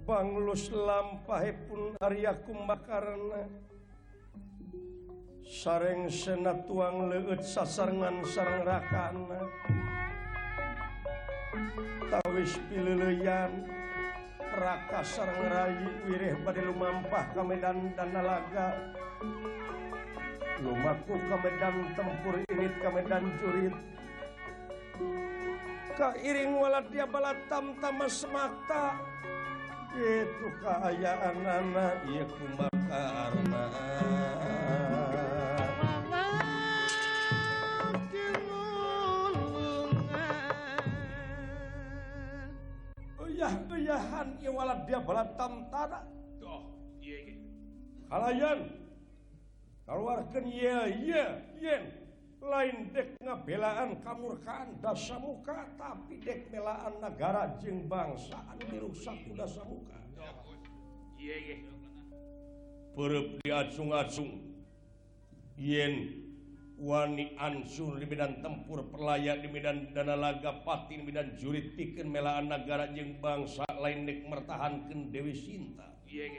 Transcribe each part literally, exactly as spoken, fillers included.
banglus lampahipun Arya Kumbakarna sareng sena tuang leueut sasarengan sareng rakana tawis pileuleyan raka sareng rayi wirih bade lumampah ka medan Danalaga lumaku ka medan tempur init ka medan jurit kairing waladia balatam tama semata itu kaayaan anak ieu Kumbakarna Yahan ieu waladia balatam tada toh ieu ge kalayan kaluarkeun ieu ieu yen lain dek ngabelaan kamurkaan Dasamuka tapi dek belaan negara jeung bangsa anu dirusak ku Dasamuka ieu ge peureub diacung-acung yen wani ansur di medan tempur perlaya di medan Danalaga pati di medan jurit pikeun melaan negara jeung bangsa lain dek mertahankeun Dewi Sinta ieu ge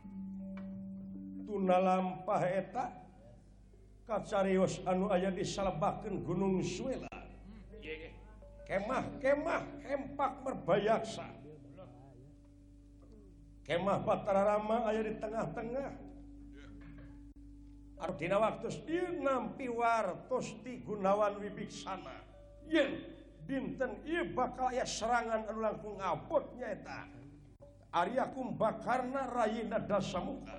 tuna lampah eta kacarios anu aya disalebakeun Gunung Suela ieu ge kemah-kemah hempak merbayaksa kemah Batara Rama aya di tengah-tengah artina waktos ieu nampi wartos ti Gunawan Wibiksana yen dinten ieu bakal aya serangan anu langkung abot nyaeta Arya Kumbakarna rayina Dasamuka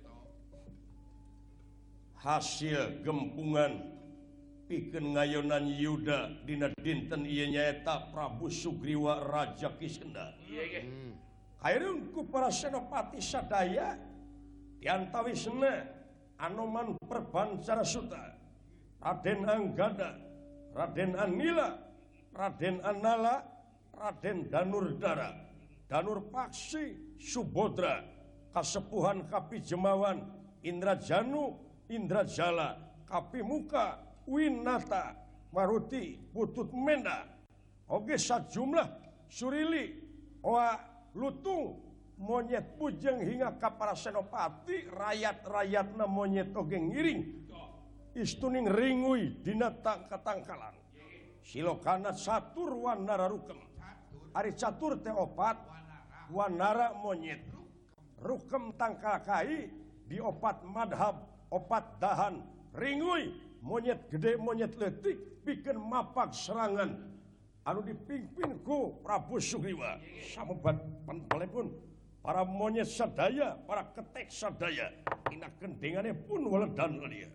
hasil gempungan pikeun ngayonan Yuda dina dinten ieu nyaeta Prabu Sugriwa Raja Kisenda ieu ge kaereung ku para senopati sadaya diantawisna Anoman Perbancara Suta Raden Anggada Raden Anila Raden Anala Raden Danurdara Danurpaksi Subodra Kasepuhan Kapijemawan Indrajanu Indrajala Kapimuka Winata Maruti Putut Menda oge sajumlah Surili Oa Lutung monyet bujeng hingga ka para senopati rakyat-rakyatna monyet oge ngiring istuning ringuy dina tangka-tangkalan silokana catur wanara rukem ari catur teh opat wanara monyet rukem tangkal kai di opat madhab opat dahan ringuy monyet gede monyet leutik pikeun mapak serangan anu dipimpin ku Prabu Sugriwa samebat panpalepun para monyet sadaya, para ketek sadaya, ina kendengane pun weledan dia.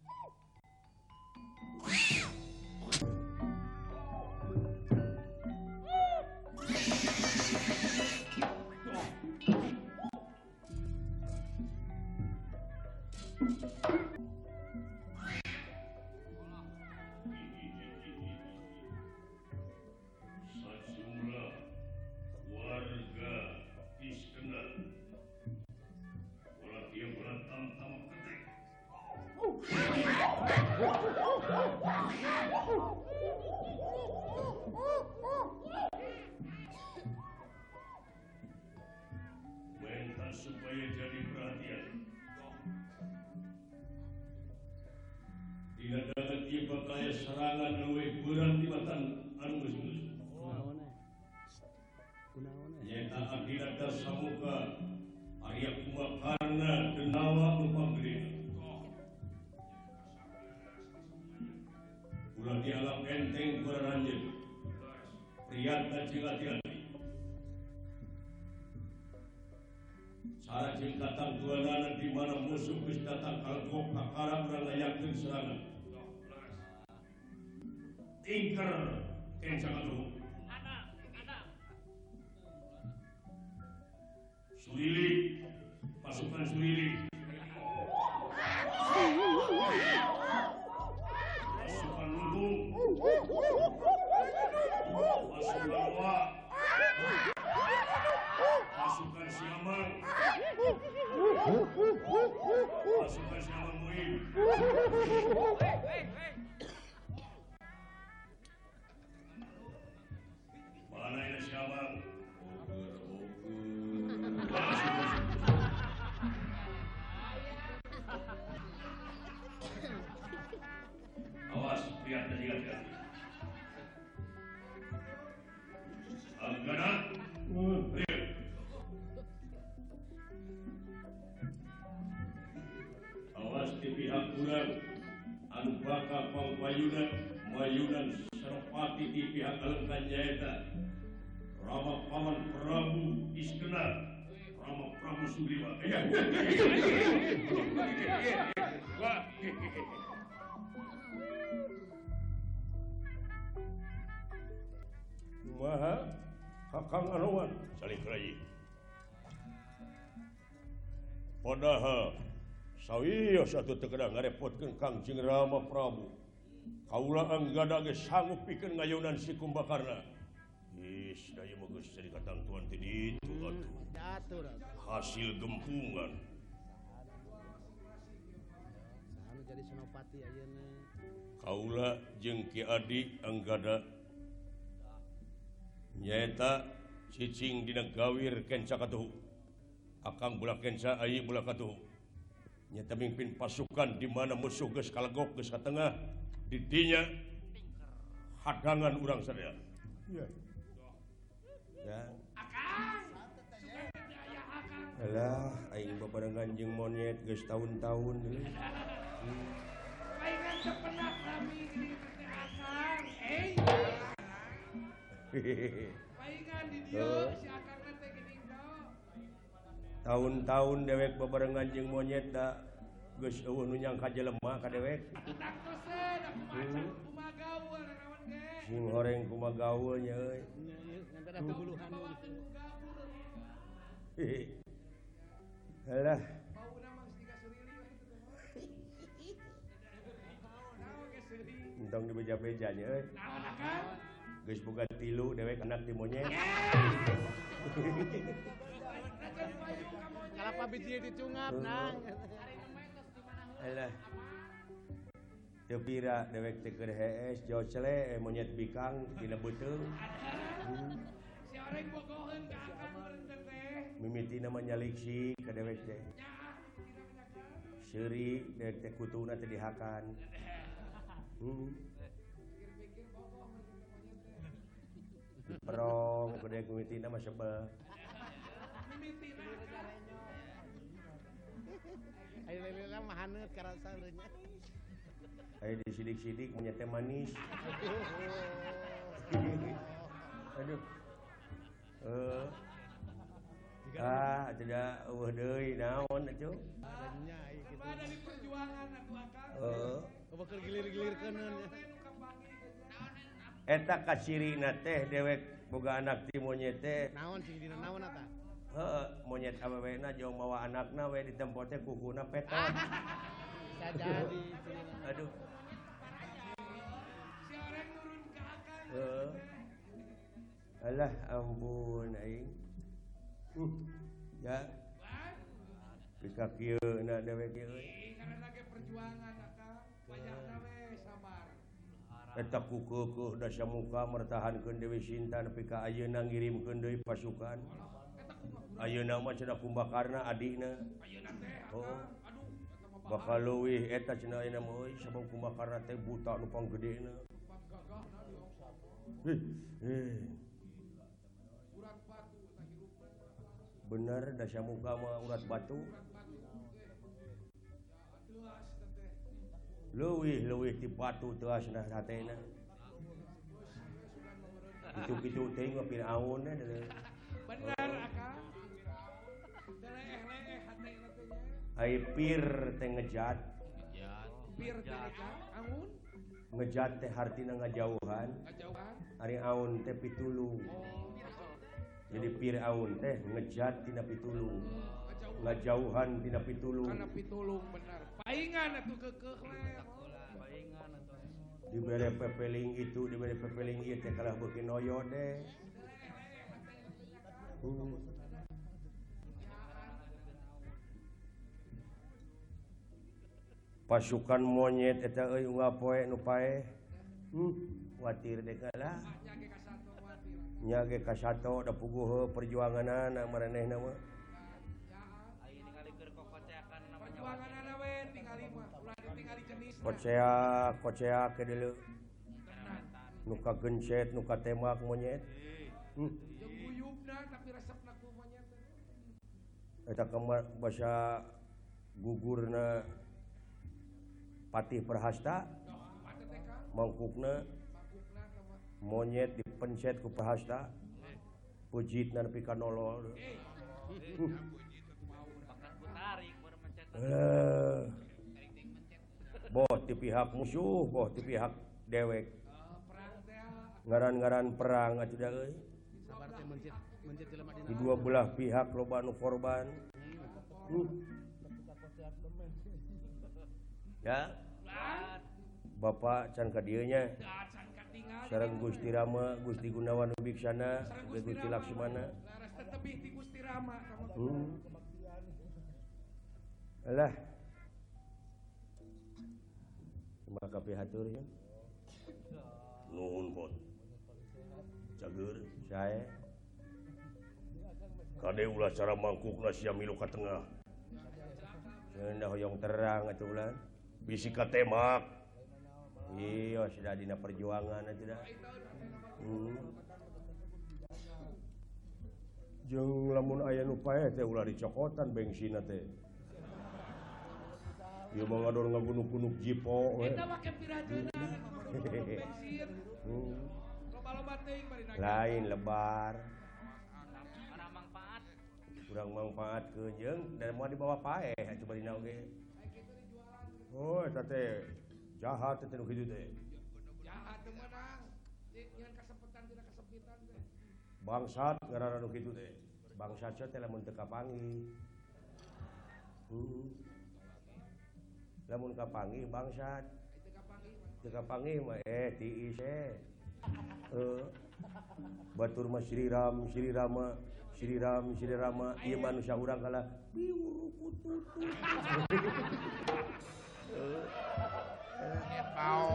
Mainkan supaya jadi perhatian. Tidak dapat dia bakal serangan leuwih berat di matan anu geus-geus. Nyata akhirat Dasamuka Arya Kumbakarna denawa nu panggedena. Ulah dianggap enteng beraranjeun. Priyatna jeung hati-hati. Cara jeung datang duanana di mana musuh geus datang kalgok kakara urang ngayakeun serangan. Tingker kencang atuh. Ana, ana. Sulili, pasukan Sulili. Pasukan Lumbung. Pasukan Lawa. Pasukan Siamang. Pasukan Siamang Muin. Mana ini Siamang? ayunan Senopati di pihak Alengka nyaeta Rama Paman Prabu Iskena Rama Prabu Sugriwa. Wah. Kumaha Kakang Anoman saling kerayi. Padahal sawiya satu tekedah ngarepotkeun Kangjeng Rama Prabu. Kaula anggada ge sanggup pikeun ngayunan si Kumbakarna. Is daya mah geus jadi katangtuan ti ditu atuh. Hasil gempungan. Anu jadi senopati ayeuna. Kaula jeung Ki Adi anggada nyaeta cicing dina gawir kenca katuhu. Akang bulah kenca ai bulah katuhu. Nyata mimpin pasukan di mana musuh geus kalegok geus ka tengah di dinya hadangan urang sadaya. Ya. Ya. Alah, aing babarengan jeung monyet geus tahun-tahun deui. Paingan sepenak kami di teh Akang. Eh. Paingan di dieu si Akang teh geuning do. Tahun-tahun dewek babarengan jeung monyet da geus eueuh nu nyangka jelema ka dewek. Udak tosen aku macan kumaha gaul naon ge. Sing horeng kumaha gaul nya euy. Ngantara puluhan. Alah, Bauna mah geus digasurili we. Naon ge seuri. entong dibeja-beja nya euy. Naon Akang? Geus boga tilu dewek anak di monyet. Kalapa biji dicungap nang. Alah. Teu pira dewek teh keur hees jauh cele monyet bikang dina beuteung. Si orang bogoheun ka Akang meureun teh. Mimitina mah nyalik si ka dewek teh. Seuri dewek teh kutuna teh dihakan. Hmm. Perong ku dewek mimitina mah sebel. Ayo lele mah haneut karasa urangnya. Aya disidik-sidik monyet teh manis. Aduh. Eh. Ah, tidak eueuh deui naon atuh? Nya ieu kitu. Ada di perjuangan atuh Akang. Heeh. Bakal gilir-gilirkeuneun nya. Eta kasirina teh dewek boga anak ti monyet teh. Naon sing dina naon eta? Heeh, monyet awewena jong mawa anakna we di tempo teh kukuna petot. Sajadi. Aduh. Si orang nurun ka Akang. Heeh. Alah ampun aing. Uh, ya. Pika kieu na dewek kieu. Ih, karena ge perjuangan Akang. Wayahna we sabar. Eta kukuh da samuka mertahankeun Dewi Sinta nepi ka ayeuna ngirimkeun deui pasukan. Ayeuna mah cenah Kumbakarna adina. Ayeuna teh Oh. Akang. Aduh, eta mah Bakal leuwih eta cenah ayeuna mah euy sabab Kumbakarna teh buta nu panggedena. tempat gagahna di Ompong. Heh. Heh. Urat batu eta hirupna. Bener da samuka mah urat batu. Telas teh. Leuwih leuwih ti batu teasna hatena. Kitu-kitu teh mah Firaun deui. Benar Akang. Leeh-leeh hatena teh nya. Ai pir teh ngejat. Pir teh Akang. Angun Ngejat teh hartina ngajauhan. kajauhan. Ari aun teh pitulung. Jadi pir aun teh ngejat tina pitulung. Ngajauhan tina pitulung. Kana pitulung benar. Paingan atuh keukeuh we. Dibere pepeling itu, dibere pepeling ieu teh kalah beuki noyo deh. Hmm. Pasukan monyet eta euy unggal poe nu paeh. Hmm, watir deh kalah. Nyage ka satu watir. Nya ge ka sato da puguh perjuanganna maranehna mah. Perjuanganna we tingali mah. Ulah ditingali jenis. Koceak, koceak ke deuleu. Nu kagencet, nu katemak monyet. Hmm. Jeung guyubna tapi resepna ku monyet teh. Eta kamar basa gugurna Patih Perhasta, Doh, mate teh Kang. mangkukna monyet dipencet ku Prahasta pujit nepi ka nolol Eh, boh di pihak musuh, boh di pihak dewek. Ngaran-ngaran perang atuh da euy. Sabar teh mencit mencit jelema dina. Di dua belah pihak loba anu korban. Hmm. Ya. Bapak can ka dieu nya. Sareng Gusti Rama, Gusti Gunawan Wibiksana, Gusti Laksmana. Laras tetebih ti Gusti Rama kamu. Hmm. Alah. Maka pihatur ya. Nuhun pot. Cager. Sae. Kade ulah cara mangkukna sia milu ka tengah. Cenah hoyong terang atuh ulah. Bisi ka temak. Iya, sudah dina perjuangan atuh dah. Hmm. Jeung lamun aya nu paeh teh ulah dicokotan bengsina teh. Ieu mah ngador ngagunuk-gunuk jipo we. Eta make pirajeuna bensin. Hmm. Loba-loba teuing bari naik. Lain lebar. Orang manfaat. Kurang manfaat ke jeung dan mau dibawa paeh atuh bari na oge. Oh, eta teh jahat teh nu kitu teh. Jahat teu meunang. Nyeun kasempetan tina kasempitan teh. Bangsat ngaranna nu kitu teh. Bangsat teh lamun teu kapanggih. Hmm. Lamun kapanggih bangsat. Teu kapanggih mah eh tiis eh. Heuh. Batur mah Sri Ram, Sri Rama, Sri Ram, Sri Rama, ieu manusia urang kalah piurukut-tutut. Epau.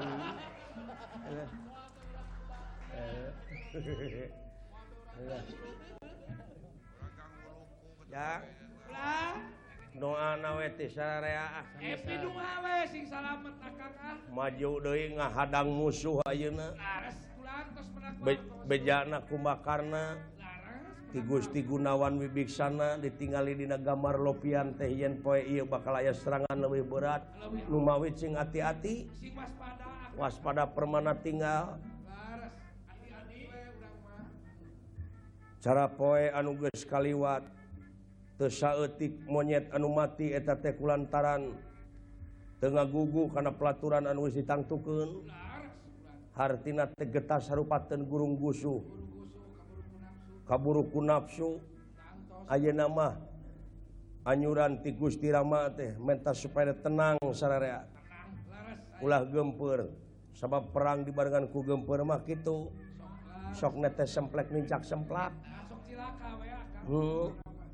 Ya, Ulah. doana we teh sararea Epi dunga we sing salamet akang ah. maju deui ngahadang musuh ayeuna. Laras ulang tos menang. Be bejana kumbakarna Laras. ti Gusti Gunawan Wibiksana ditingali dina gambar lopian teh yen poe ieu bakal aya serangan leuwih berat. Nu mawi cing ati-ati, Sing waspada. waspada permana tinggal. Laras. Hati-hati we urang mah. Cara poe anu geus kaliwat teu saeutik monyet anu mati eta teh kulantaran teu ngagugu kana pelaturan anu geus ditangtukeun. Laras. Hartina teh getah sarupateun gurung gusuh. Kaburu ku nafsu. Ayeuna mah anyuran ti Gusti Rama teh menta supaya tenang sararea. Ulah gempeur. Sabab perang dibarengan ku gempeur mah kitu. Sok teh semplek nincak semplak. Sok cilaka we akang. Hmm.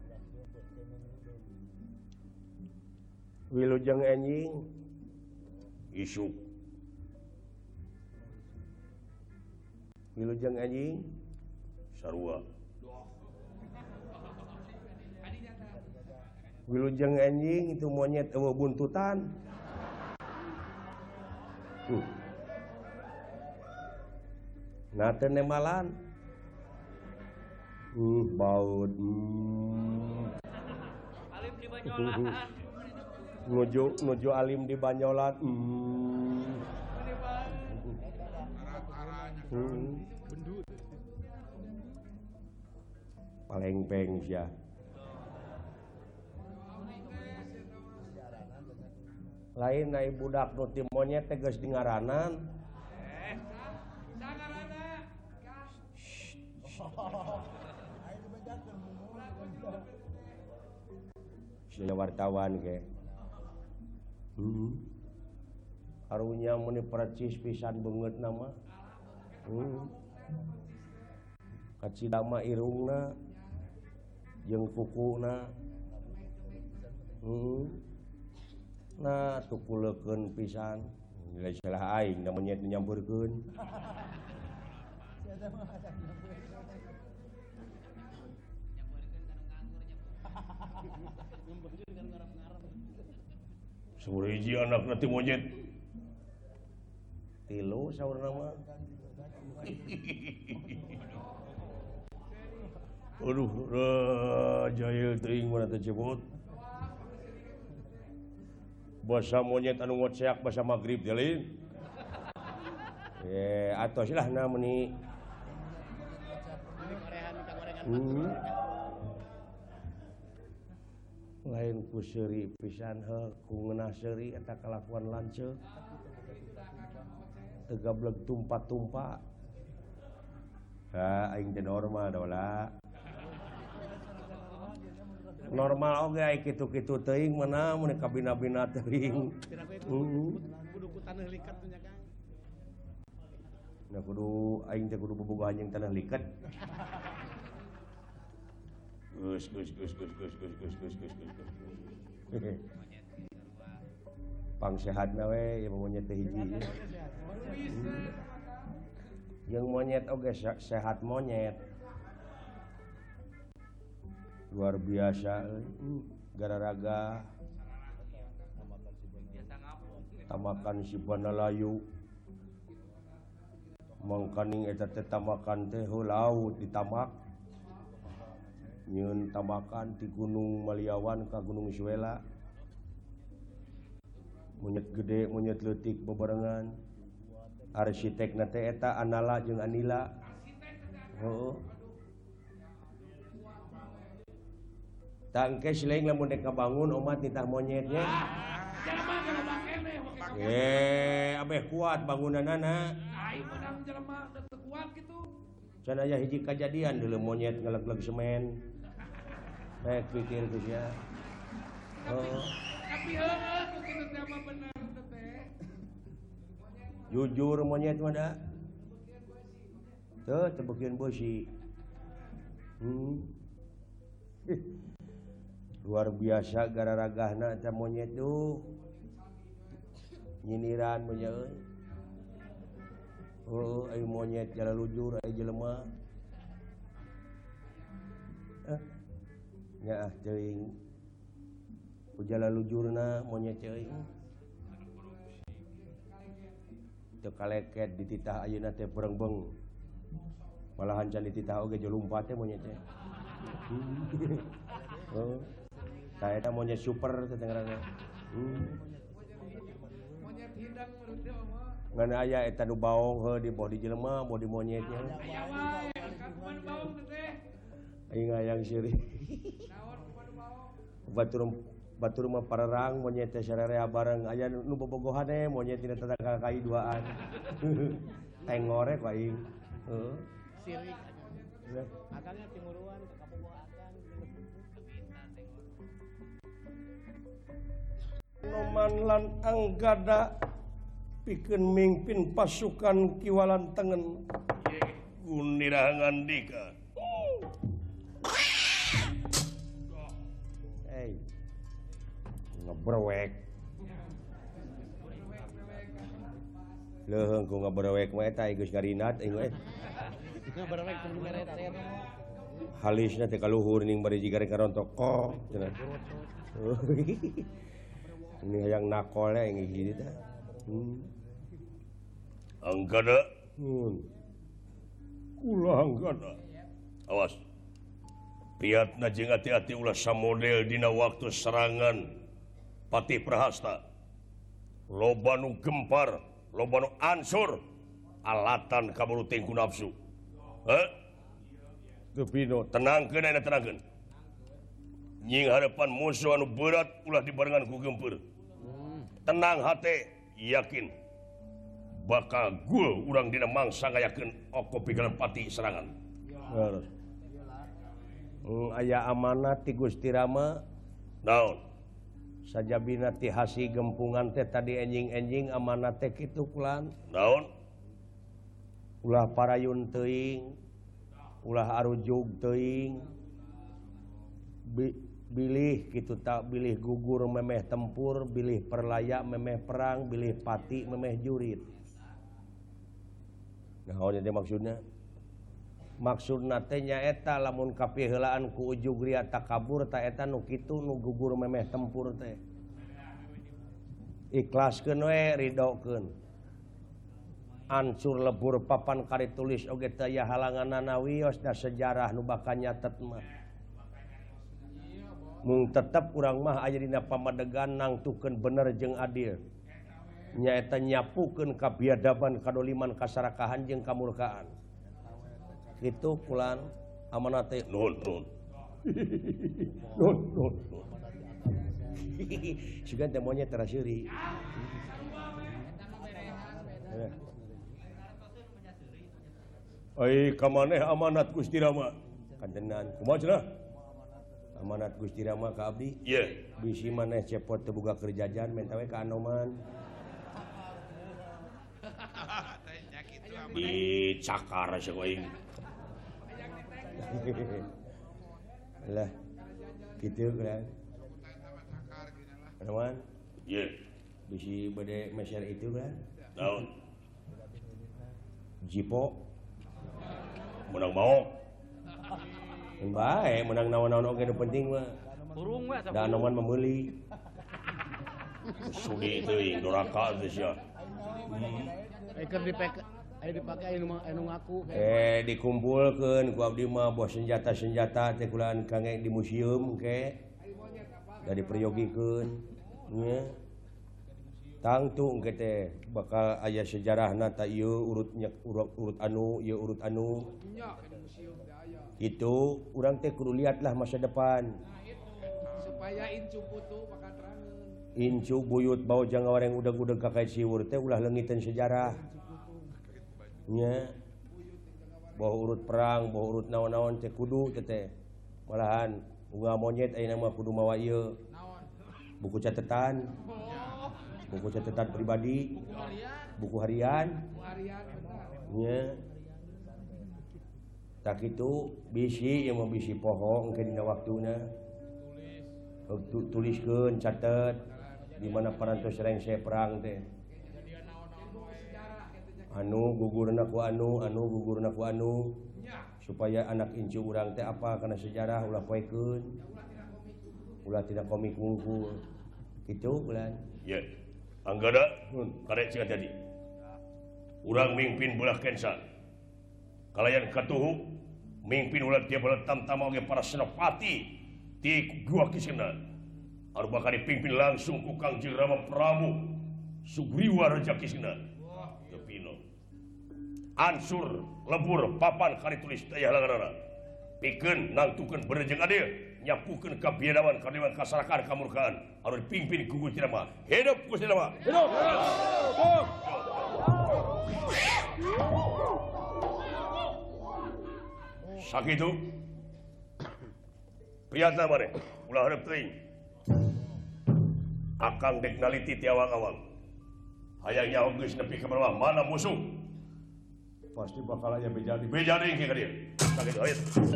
Wilujeng enjing Isuk. Wilujeng enjing Sarua. Wilujeng enjing itu monyet eueuh buntutan. Hmm. Nah teu nemalan. Uh, baut. Hmm. Alim di Banyolan. Nuju nuju alim di Banyolan. Hmm. Hmm. Paling peng sia. Lain naik budak nu ti monyet teh geus dingaranan. Eh, sangarana. Sia wartawan ge. Hmm. Karunya meni percis pisan beungeut nama. Hmm. Kacidama irungna jeung kukuna. Hmm. Nah tukulekeun pisan. Nilai salah aing da monyet nyampeurkeun. Saur hiji anakna ti monyet. Tilu saurna mah. Aduh, raja ieu teuing mana teu cepot. Basa monyet anu ngoceak basa magrib teh lain. Eh, atau silah namanya hmm. lain ku seuri pisan he ku ngeunah seuri eta kalakuan lanceuk teu gablek tumpa-tumpa ha aing teh normal dola normal oge aya kitu-kitu teuing meunang mun kabina-bina teuing kudu ku taneuh liket nya Kang. Nah kudu aing teh kudu bobogohan jeung tanah liket. Gus gus gus gus gus gus gus gus gus gus. Pang sehatna we ya monyet teh hiji. Yang monyet oge sehat monyet. Luar biasa euy. Gararaga tamakan si Banalayu. Mangkaning eta teh tamakan teh laut ditamak nyieun tamakan ti Gunung Maliawan ka Gunung Suela monyet gede monyet leutik bebarengan arsitekna teh eta Anala jeung Anila heuh tangke sileung lamun dek kabangun omat nitah monyetnya Jelema jelema keneh make eh abeh kuat bangunanana aing menang jelema teu kuat kitu. Can aya hiji kajadian deuleu monyet ngeleg-leg semen. Baik pikir geus ya. Oh, Tapi heueuh ku kitu teh mah bener teh teh. jujur monyet mah da. Teu teu beukeun beusi. Hmm. Luar biasa gararagahna eta monyet tuh. Nyiniran mah euy. Oh, ayo monyet jalan lujur, ayo jelema. Eh, nya ah teuing. Ku jalan lujurna monyet teuing. Teu kaleket dititah ayeuna teh berengbeng. Malahan can dititah oge jo lumpat teh monyet teh. Oh. Tah eta monyet super teh ngaranna. Hmm. Monyet hidang meudeu mah. Ngan aya eta nu baong heuh di bodi jelema, bodi monyetnya. Ya wae, kan kumaha baung teh teh. Aing hayang seureung. Naon kumaha baung? Batur batur mah parerang monyet teh sarerea bareng aya nu bobogohan teh monyet tina tetangga kai duaan. Teng ngorek wae aing. Heeh. Sirik aja. Akangnya timuruan ke kapogo akang. Noman lan anggada pikeun mingpin pasukan kiwalan tengen Gunira ngandika. Hey. Ngebrewek. Leuheung ku ngabrewek mah eta geus garinat aing we. Ngabrewek teu ngeret saya mah. Halisna teh kaluhur ning bari jigare karontok kok cenah. Ini hayang nakol aing hiji teh. Hmm. Anggada Hmm. ulah anggada. Awas. Priatna jeung hati-hati ulah samodel dina waktu serangan Patih Prahasta. Loba nu gempar, loba nu ansur, alatan kamuruting ku nafsu. Heh? Tepino Tenangkeun ayeuna tenangkeun. Nying harapan musuh anu berat ulah dibarengan ku gempeur. Tenang hate, yakin bakal gul urang dina mangsa ngayakeun oko pikeun pati serangan. Beres. Hmm, aya amanat ti Gusti Rama Naon? sajabina ti hasi gempungan teh tadi enjing-enjing amanat teh kitu kulan Naon? ulah parayun teuing ulah arujug teuing Bi- bilih kitu tak bilih gugur memeh tempur bilih perlaya memeh perang bilih pati memeh jurit. Naon teh maksudna? Maksudna teh nyaeta lamun kapiheulaan ku ujug ria takabur ta eta nu kitu nu gugur memeh tempur teh. Ikhlaskeun we ridokeun. Ancur lebur papan kari tulis oge teu aya halanganna wios da sejarah nu bakal nyatet mah. Mung tetep urang mah aya dina pamadegan nangtukeun bener jeung adil. nyaeta nyapukeun kabiadaban kadoliman kasarakahan jeung kamurkaan kitu kulan amanat teh nuhun nuhun nuhun nuhun sugan teh monyet teraseuri ai kamaneh amanat Gusti Rama kantenan kumaha cenah amanat Gusti Rama ka abdi iya bisi maneh cepot teu boga keur jajan menta we ka Anoman di cakar sakoing lah kitu kan Anoman iya bisi bade meser itu kan naon jipo menang mau bae menang naon-naon oge nu penting mah Turung we da Anoman memeuli sudi teuing doraka teh sia eh keur dipake aya dipake anu anu ngaku eh dikumpulkeun ku abdi mah bos senjata-senjata teh kulaan kange di museum ke da diperyogikeun nya tangtu engke teh bakal aya sejarahna ta ieu urut urut, urut anu ieu urut anu itu urang teh kudu liatlah masa depan supaya incu putu bakal terangeun incu buyut bau jang ngawareng udeg-udeg ka kait siwur teh ulah leungiteun sejarah nya bahwa urut perang bahwa urut naon-naon teh kudu teh teh malahan unggah monyet ayeuna mah kudu mawa ieu buku catatan buku catatan pribadi buku harian harian nya tak itu bisi yang mau bisi poho engke dina waktuna tuliskeun catet di mana parantos rengse perang teh anu gugurna ku anu anu gugurna ku anu supaya anak incu urang teh apa kana sejarah ulah poekeun ulah tidak komik ngungkul kitu bulan ya anggada karek cika jadi urang mimpin belah kensa kalayan katuhu mimpin ulah dia belah tamtama oge para senopati di gua kisena anu bakal dipimpin langsung ku Kangjeng Rama Prabu Sugriwa Raja Kisena tepino ansur lebur papan kari tulis daya langanana pikeun nangtukeun bener jeung adil nyapukeun kabiadaban kadiliman kasarakan kamurkaan anu dipimpin ku Gusti Rama hidup Gusti Rama hidup sakitu priyatna mane ulah hareup teuing akang dek naliti ti awang-awang hayang nyaho geus nepi ka bawah mana musuh pasti bakal aya bejadi bejadi ke ka dieu sakitu aya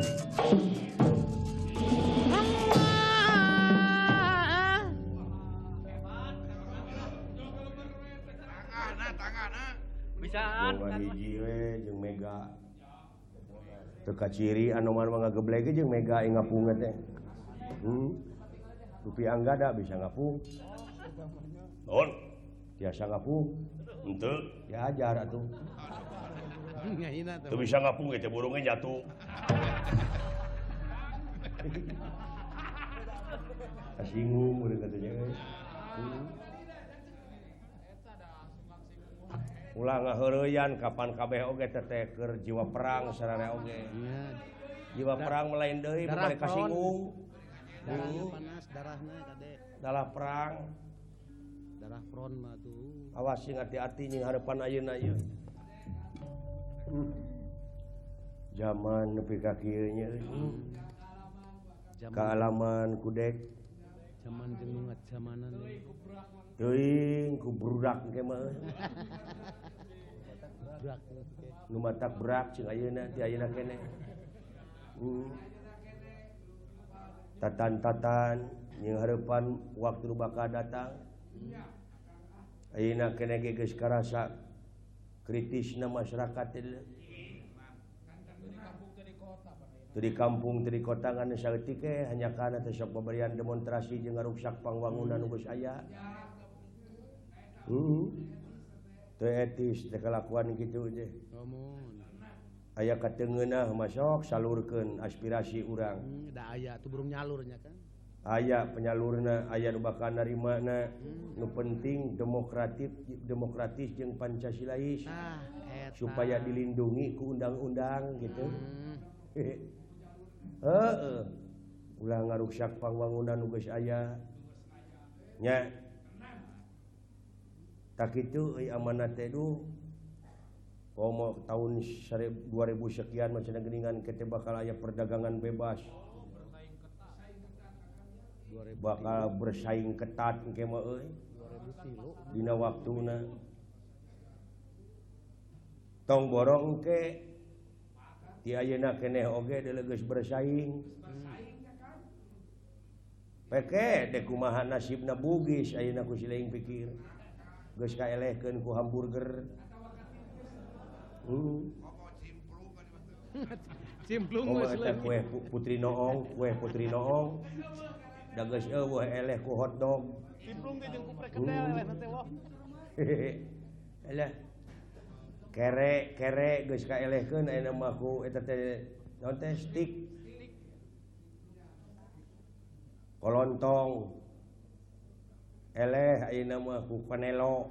bisaan Jeung hiji we jeung mega teu kaciri Anoman mah ngageblege jeung mega ing ngapung teh hmm rupi anggada bisa ngapung naon tiasa ngapung henteu ya ajar atuh ngahina teu bisa ngapung ge teh burungna nyatu kasinggung urang katanya hmm. ulah ngaheureuyan kapan kabeh oge teh teh keur jiwa perang sararea oge iya jiwa perang melain deui darah balik kasinggung darahnya panas darahnya kade dalah perang darah front mah tuh awas sing hati-hati ning harapan ayeuna ieu zaman nepi ka kieu nya zaman kaalaman kudek zaman jenungat zamanan teuing ku burudak ge mah brak nu matak berak cing ayeuna ti ayeuna keneh hmm. tatan-tatan yang harapan waktu nu bakal datang ayeuna keneh ge geus karasa kritisna masyarakat teh teu di kampung teu di kota ngan saeutik ke hanya kana teh sok paberian demonstrasi jeung ngaruksak pangwangunan nu geus aya heeh teu etis teh kalakuan kitu teh ngomong aya kateungeunah masok salurkeun aspirasi urang hmm, da aya tuh burung nyalurnya kan aya penyalurna aya nu bakal narimana nu penting demokratif demokratis jeung Pancasilais Nah, eta. supaya dilindungi ku undang-undang gitu Hmm. heeh ulah ngaruksak pangwangunan nu geus aya nya tak kitu euy amanat teh du komo tahun dua ribu sekian macam geningan kita bakal aya perdagangan bebas bakal bersaing ketat engke mah euy dina waktuna tong borong engke ti ayeuna keneh oge deuleu geus bersaing peke dek kumaha nasibna bugis ayeuna ku sileing pikir geus kaelehkeun ku hamburger hmm. Cimplung Oh, geus eta kue pu- putri noong, kue putri noong. Da geus eueuh eleh ku hotdog. Cimplung ge jeung kuprek kendel eleh teh wah. Elah. Kere, kere geus kaelehkeun ayeuna mah ku eta teh naon teh stik. Kolontong. Eleh ayeuna mah ku panelo.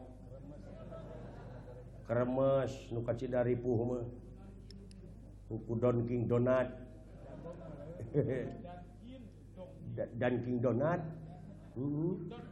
Kremes nu kacidari puh mah. Ku Dunkin Donat. Dan King Donat. Heeh.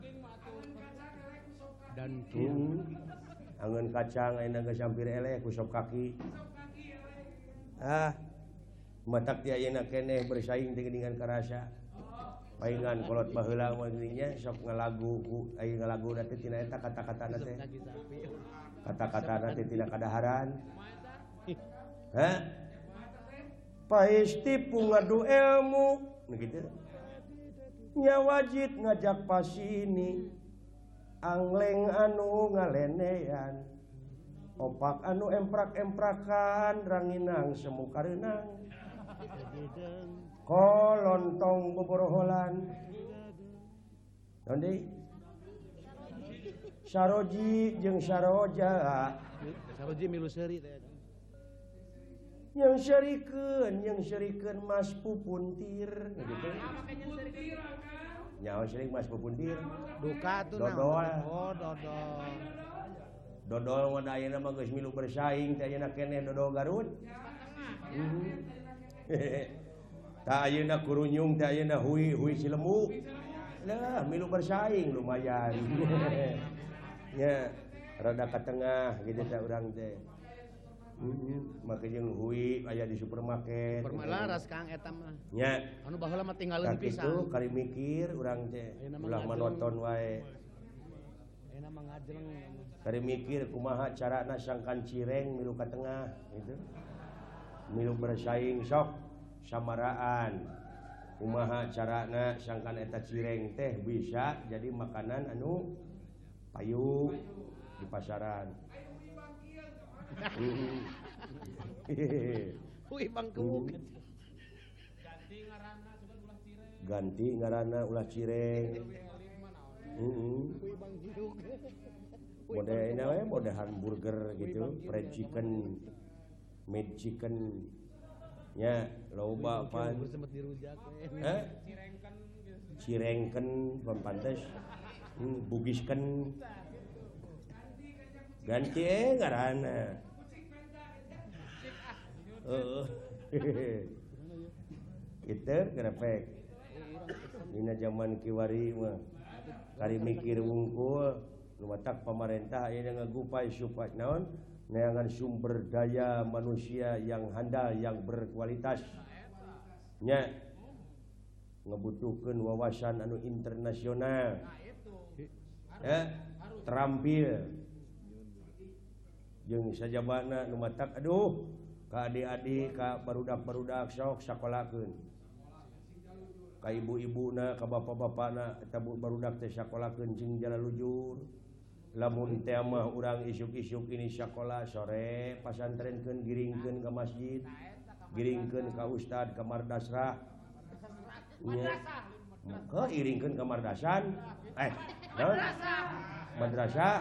Dan Hmm. Angeun kacang ayeuna geus hampir eleh ku sop kaki. Ah. Matak ti ayeuna keneh bersaing teh geuningan karasa. Paingan kolot baheula mah geuning nya sok ngalagu ku aya ngalagu teh tina eta kata-katana teh. Kata-katana teh tina kadaharan. Hah? Paisti pungadu ilmu begitu nya wajib ngajak pasini angleng anu ngalenean opak anu emprak-emprakan ranginang semu kareunang kolontong boboroholan naon deui saroji jeung saroja saroji milu seuri teh. yang syarikeun yang syarikeun Mas Pupuntir gitu nyawa sering Mas Pupuntir Duka tuh dodol Oh, dodol. dodol mah da ayeuna mah geus milu bersaing teh ayeuna keneh dodol Garut ta ayeuna kurunyung teh ayeuna hui hui Cilembu lah milu bersaing lumayan nya rada ka tengah gitu teh urang teh heeh make jeung hui aya di supermarket Permalaras Kang eta mah. nya Anu baheula mah tinggalin tak pisan. itu kali mikir urang teh ulah monoton wae Ayeuna mah ngajleng. kali mikir kumaha carana sangkan cireng milu ka tengah gitu milu bersaing sok samaraan kumaha carana sangkan eta cireng teh bisa jadi makanan anu payu di pasaran. Ui bangku. Ganti ngaranna ulah cireng. Heeh. Modena we mode hamburger gitu, fried chicken, made chicken. Nya loba pan. Sempat dirujak we. Hah? Cirengken pantes. Hmm, bugiskeun. Ganti eh ngaranna. Heeh. Kitu grepek. Dina zaman kiwari mah kari mikir wungkul lumatak pemerintah ayeuna ngagupay supaya naon neangan sumber daya manusia yang handal yang berkualitas nya ngebutuhkeun wawasan anu internasional ya terampil jeung sajabana nu matak aduh ka adik-adik ka barudak-barudak sok sakolakeun ka ibu-ibuna ka bapak-bapana eta barudak teh sakolakeun jeung jalalujur lamun teh mah urang isuk-isuk ini sakola sore pasantrenkeun giringkeun ka masjid giringkeun ka ustad ka mardasrah nya maka iringkeun ka mardasan eh naon madrasah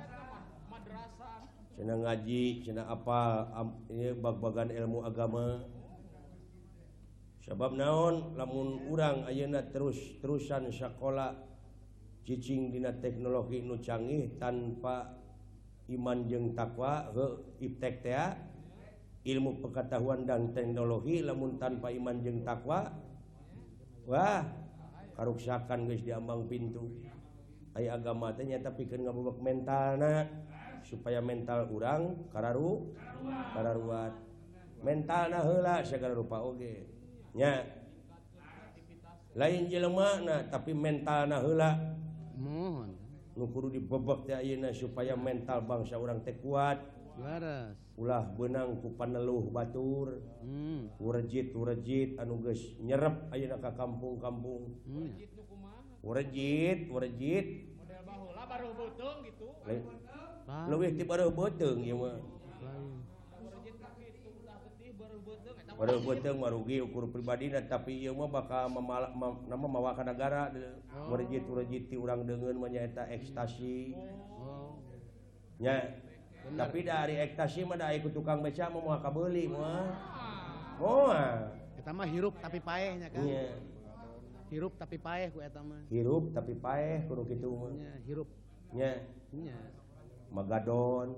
cenah ngaji cenah apa am, ini bag-bagan ilmu agama Sabab naon lamun urang ayeuna terus-terusan sakola cicing dina teknologi nu canggih tanpa iman jeung takwa heuh iptek teh ilmu pengetahuan dan teknologi lamun tanpa iman jeung takwa wah karuksakan geus diambang pintu aya agama teh nya tapi keun ngabobok mentalna supaya mental urang kararu kararuat mentalna heula sagala rupa oge nya lain jelema tapi mentalna heula mohon nu kudu dibebek teh ayeuna supaya mental bangsa urang teh kuat waras ulah beunang ku paneluh batur hmm. urejit-urejit anu geus nyerep ayeuna ka kampung-kampung hmm. urejit urejit model baheula baru beuteung gitu Lain. leuwih ti bareuh beuteung ieu mah Lain. urejit ka kitu udah getih baru beuteung eta bareuh beuteung mah rugi ukur pribadina tapi ieu mah bakal mamala, ma, nama mawa ka negara urejit-urejit ti urang deungeun mah nyaeta ekstasi Oh. nya tapi dari ekstasi mah da aya ku tukang beca mah moal kabeuli moal moal Eta mah hirup tapi paeh nya kan. nya Hirup tapi paeh ku eta mah. hirup tapi paeh kudu kitu mah Nya hirup nya nya. magadon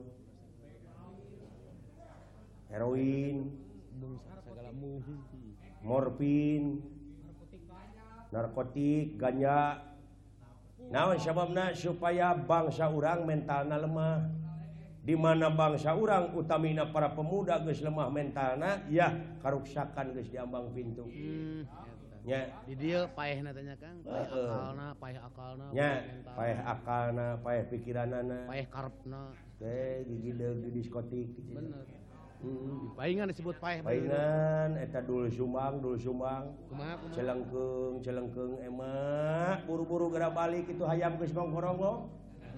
heroin Bung sagala mu. morfin narkotik ganja naon sababna supaya bangsa urang mentalna lemah di mana bangsa urang utamina para pemuda geus lemah mentalna ya karuksakan geus diambang pintu Hmm, eta. nya Di dieu paehna teh nya Kang. Paeh Heeh. akalna, paeh akalna, nya mental. paeh akalna paeh pikiranana paeh karepna. teh gigideug di diskotik gitu. Bener. Hmm. Paingan disebut paeh. Paingan eta dul sumbang dul sumbang Kumaha kumaha. celengkeung celengkeung emak buru-buru geura balik itu hayam geus ngongkorong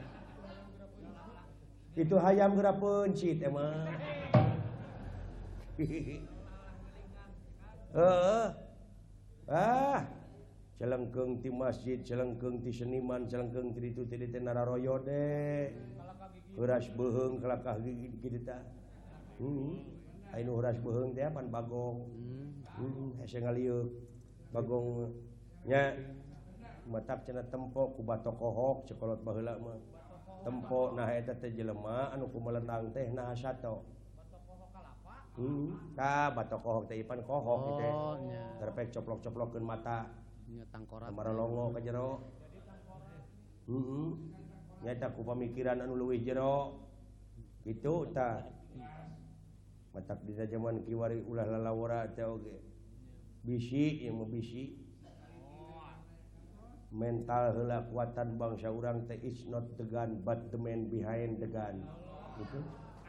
itu hayam geura pencit emak heeh ah celengkeung ti masjid celengkeung ti seniman celengkeung ti ditu ti ditu nararoyo de heuras beuheung kelakah gigi kitu tah hmm anu heuras beuheung teh pan bagong Hmm. hmm hese ngaliuk bagong nya matak cenah tempo ku batok kohok cekolot baheula mah tempo nah eta teh jelema anu kumelendang teh nah sato hmm ka batok kohok teh ipan kohok kitu teh Oh nya. terpek coplok-coplokkeun mata Nya tangkorat. marolongo ka jero heeh nyata ku pamikiran anu leuwih jero kitu tah matak dina zaman kiwari ulah lalawara teh oge bisi ieu mah bisi mental heula kuatan bangsa urang teh is not the gun but the man behind the gun gitu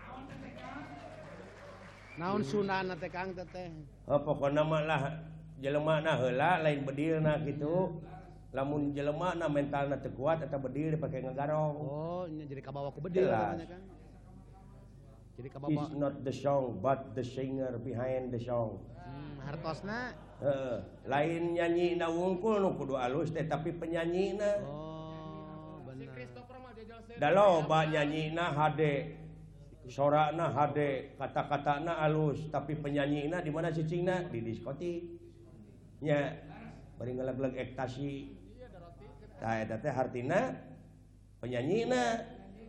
Naon sunana teh Kang teh teh? oh pokona mah lah jelema na heula lain bedilna kitu lamun jelema na mentalna teu kuat eta bedil dipake ngagarong Oh, nya jadi kabawa ku bedil Jelas. katanya Kang. Jadi is kabawa not the song but the singer behind the song hmm, hartosna. heeh lain nyanyi na wungkul nu kudu alus teh tapi penyanyina Oh, benar. Christopher mah jajal saya da loba nyanyina hade sorana hade kata-katana alus tapi penyanyina di mana cicingna di diskotik nya bari ngeleg-leg ekstasi tah eta teh hartina penyanyina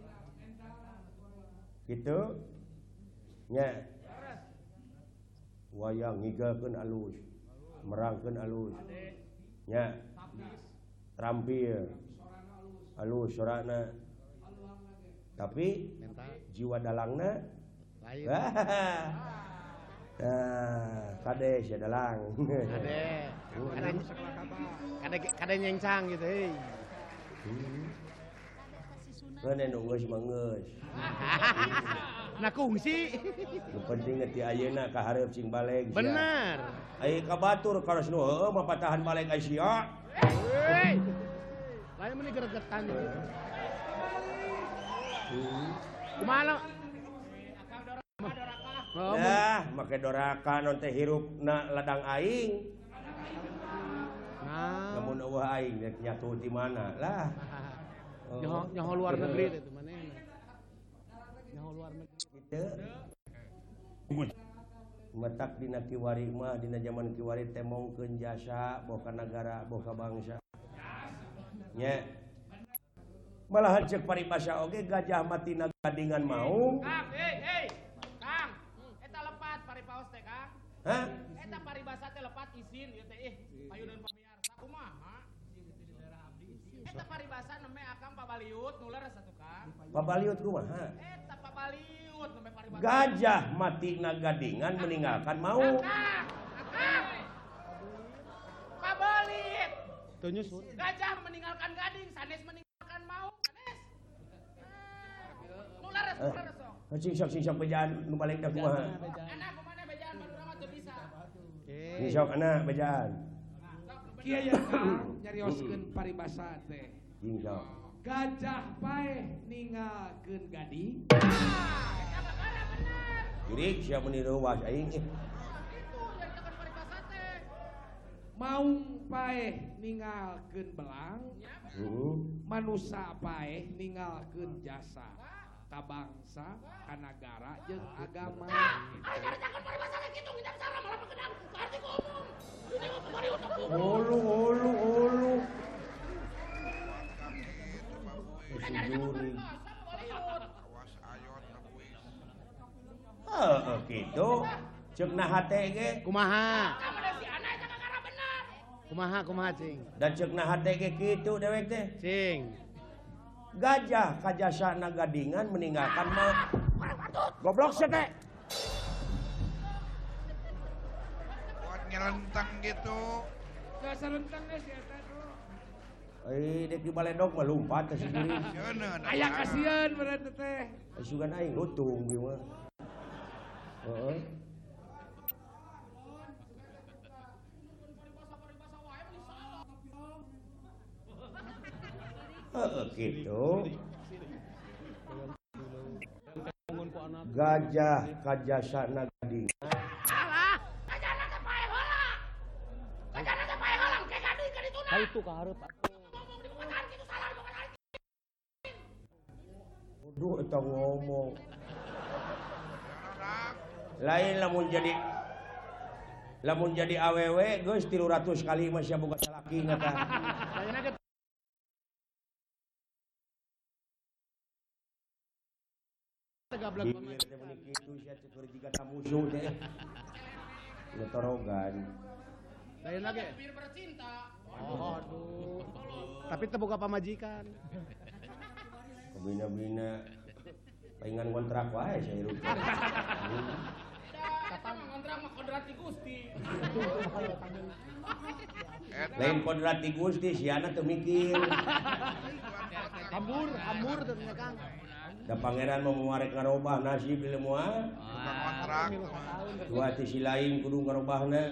gitu nya wayang ngigakeun alus merangkeun alus nya terampil alus sorana tapi Mental jiwa dalangna lain. nah kade sia dalang Kade. Kade kade kade nyengsang gitu heuy. Kene nu geus mah geus Nah kungsi. nu penting ti ayeuna ka hareup cing baleg sia Benar. ai ka batur karos nu heueuh mah patahan baleg ai sia Hei. Lain meni gregetan gitu. Kumaha? Oh, dah make doraka non teh hirupna ladang aing nah. lamun eueuh aing rek nyatu di mana lah Nyoho nyoho luar negeri itu manehna. Nyoho luar negeri. kitu metak dina kiwari mah dina zaman kiwari teh mongkeun jasa boka negara boka bangsa nya malahan cek paribasa oge gajah mati gadingan mau Kang, hei, hei, Kang, eta lepat paripaos teh Kang. hah Eta paribasa teh lepat izin ieu teh ih payunan pamiarsa kumaha? Eta paribasa neme akang pabaliut nular satu Kang. pabaliut kumaha Eta pabaliut neme paribasa. gajah mati gadingan meninggalkan mau Kang, Kang. Pabalit. Tuh nyusun. Gajah meninggalkan gading, sanes meninggalkan mau, sanes. Nular nular sok. cing sok cing sok bejaan nu balik dah kumaha Anak kumana bejaan madura mah teu bisa. cing sok anak bejaan Kieu ya Kang nyarioskeun paribasa teh. cing sok Gajah paeh ninggalkeun gading. jurik sia meniru was aing eh Itu nyaritakeun paribasa teh. Maung paeh ninggalkeun belang. heeh Manusa paeh ninggalkeun jasa ka bangsa, ka nagara jeung agama. Ari nyaritakeun paribasa teh kitu ngidap sara malah pakedan ka arti ku umum. Ini mah pabaliut aku. ulu ulu ulu si jurik heeh kitu ceuk nah hate ge Kumaha? Kamana si anak eta kakara bener. Kumaha kumaha cing? dan ceuk nah hate ge kitu dewek teh Cing. gajah kajasa gadingan meninggalkan mah goblok sia teh buat ngelentang gitu. Gak sarentang geus si eta tuh. eh dek di baledog mah lumpat ka si jurik Cenah. Aya kasieun berarti teh. sugan aing lutung ieu mah heeh heeh gitu gajah kajasa gadingan Salah. Gajahna teh paeh heula. Gajahna teh paeh heula ke gading ka dituna. Hai itu ka hareup. Ngomong di perkataan kitu salah bukan ari. Duh, eta ngomong. Rak. Lain lamun jadi lamun jadi awewe geus tilu ratus kali mah sia boga salaki ngata. Ayeuna ge gablek Bibir teh meni kitu sia ceuk jiga tamusuh teh. Letorogan. ayeuna ge. Bir bercinta. Oh, aduh. Tapi teu boga pamajikan. Bina-bina paingan kontrak wae sia hirup. Eta mah ngontrak mah kodrati Gusti. Lain kodrati Gusti siana teu mikir. Hambur, hambur teu nya Kang. Da pangeran mau nguarek ngarobah nasib ieu moal. Bukan kontrak. Dua ti si lain kudu ngarobahna.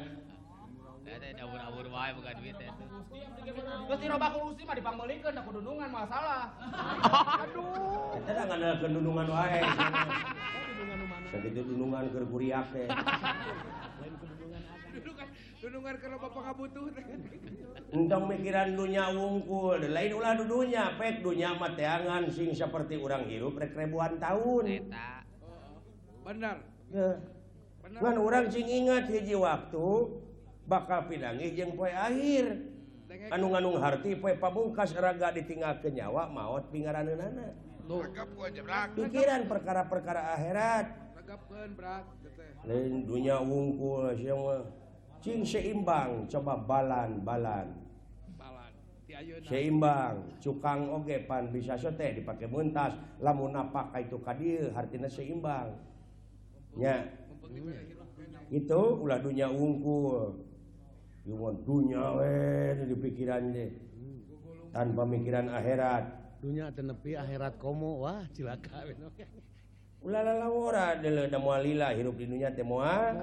Geus dirobah ku Gusti mah dipangmeulikeun da kudunungan masalah. Aduh. Eta da ngandalkeun dudungan wae. Sakitu dudungan keur kuriak teh. Dudungan dudungan ke loba pangabutuh teh. Entong mikiran dunya wungkul, lain ulah dudunya, pek dunya mah teangan sing seperti urang hirup rek ribuan tahun. Bener. Ya. Ngan urang sing ingat hiji waktu bakal pinangih jeung poe akhir. Anu nganung harti poe pamungkas raga ditinggalkeun nyawa maot pingaraneunana. Agap gua aja rak. Pikiran perkara-perkara akhirat. Tagapkeun brak teh. Lain dunya wungkul sia mah cing seimbang coba balan-balan. Balan. Ti ayeuna. Seimbang cukang oge pan bisa sote dipake muntas lamun napak ka itu ka dieu hartina seimbang nya itu ulah dunya wungkul ieu dunya we di pikiran teh tanpa mikiran akhirat Dunya teu nepi akhirat komo. Wah, cilaka we. ulah lalawora deuleu da moal lila hirup di dunya teh moal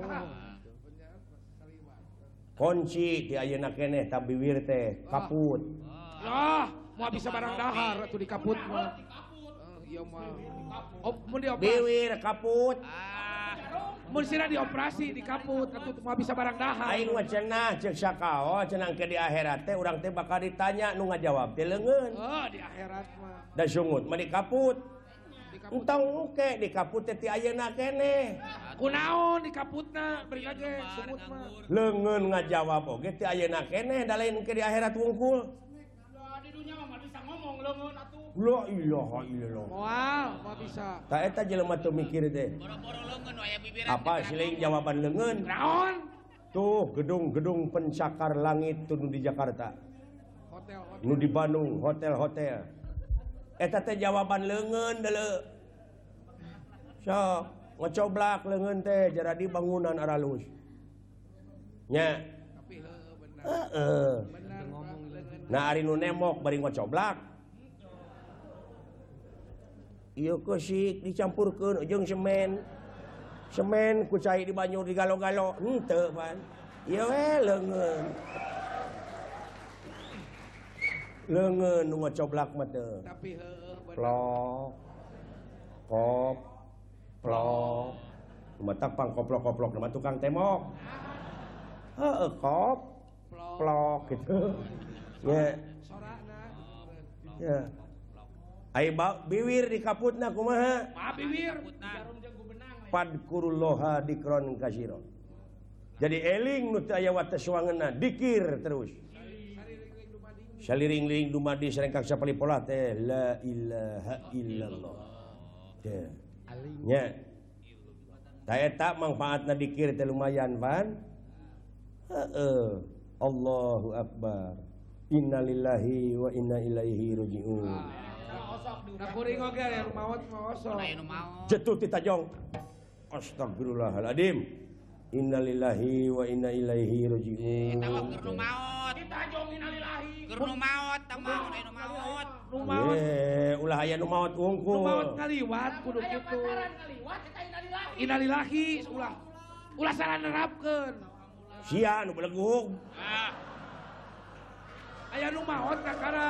kunci ti ayeuna keneh tabiwir teh kaput. Lah, mau bisa barang dahar atuh di kaput mah. Iya mah. Oh, mun dioperasi. Biwir kaput. Mun sira dioperasi di kaput atuh mau bisa barang dahar. Aing mah cenah ceuk sakao cenah ke di akhirat teh urang teh bakal ditanya nu ngajawab teh leungeun. Oh, di akhirat mah. Da sungut mah di kaput. Di kaput. Entong oke di kaput teh ti ayeuna keneh. Kunaon di kaputna beri lagi sumut mah. Leungeun ngajawab oge ti ayeuna keneh da lain ke di akhirat wungkul. Da di dunia mah bisa ngomong leungeun atuh. La ilaha illallah. Moal, moal bisa. Ta eta jelema teu mikir teh. Boro-boro leungeun aya bibiran. Apa siling jawaban leungeun? Naon? Tuh gedung-gedung pencakar langit tuh nu di Jakarta. Hotel, hotel. Nu di Bandung hotel-hotel. Eta teh jawaban leungeun deuleu. Sok ngocoblak leungeun teh jaradi bangunan aralus. Nya. Tapi heueuh benar. Heeh. Benar ngomong leungeun. Nah ari nu nemok bari ngocoblak. Ieu keusik dicampurkeun jeung semen. Semen ku cai di banyu digalo-galo henteu pan. Ieu we leungeun. Leungeun nu ngocoblak mah teu. Tapi heueuh benar. Plok. Kop. Plok. Matak pangkoplok-koplok nama tukang temok. Heeh, kop. Plok. Plok gitu. Ya. Sorana. Ya. Ai biwir di kaputna kumaha? Maaf bibir. Jarum jeung gubenang. Padkurullaha dikron kasiro. Jadi eling nu teu aya wates wangeunna, dikir terus. Saliring-ling dumadi sareng kaksa palipolah teh la ilaha illallah. Teh. Nya. Ta eta manfaatna dikir teh lumayan pan. Heeh. Allahu akbar. Innalillahi wa inna ilaihi rajiun. Nah kuring oge ya rumawat ngosok. Aya nu maot. Jatuh ti tajong. Astagfirullahaladzim. Innalillahi wa inna ilaihi rajiun. Eta mah keur nu maot. Kita jong innalillahi. Keur nu maot tah maot aya nu maot. Rumawat. Eh, ulah aya nu maot wungkul. Rumawat ngaliwat kudu Aya kitu. pacaran ngaliwat kita innalillahi. Innalillahi ulah. Ulah salah nerapkeun. Sia nu belegug. Aya nu maot kakara.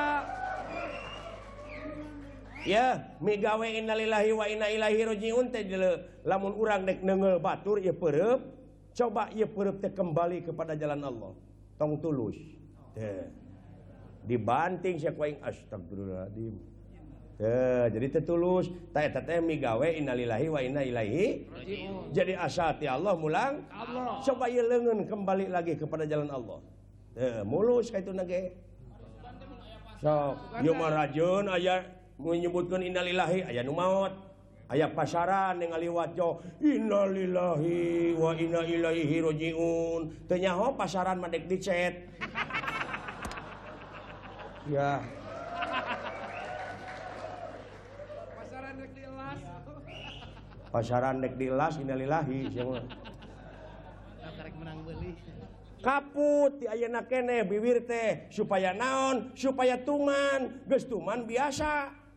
Ya, migawe innalillahi wa inna ilaihi rajiun teh lamun urang dek neungeul batur ieu peureup, coba ieu peureup teh kembali kepada jalan Allah. Tong tulus. Teh. Dibanting sia ku aing astagfirullahaladzim. Teh, jadi teh tulus, ta eta teh migawe innalillahi wa inna ilaihi rajiun. Jadi asa ti Allah mulang Allah. coba ieu leungeun kembali lagi kepada jalan Allah. Teh, mulus ka ituna ge. So, ieu mah rajeun aya menyebutkan innalillahi aya nu maot aya pasaran yang ngaliwat jo innalillahi wa inna ilaihi rajiun teu nyaho pasaran mah dek dicet ya Pasaran rek dielas. pasaran dek dilas innalillahi sia Karek menang beuli. kaput ti ayeuna keneh bibir teh supaya naon supaya tuman geus tuman biasa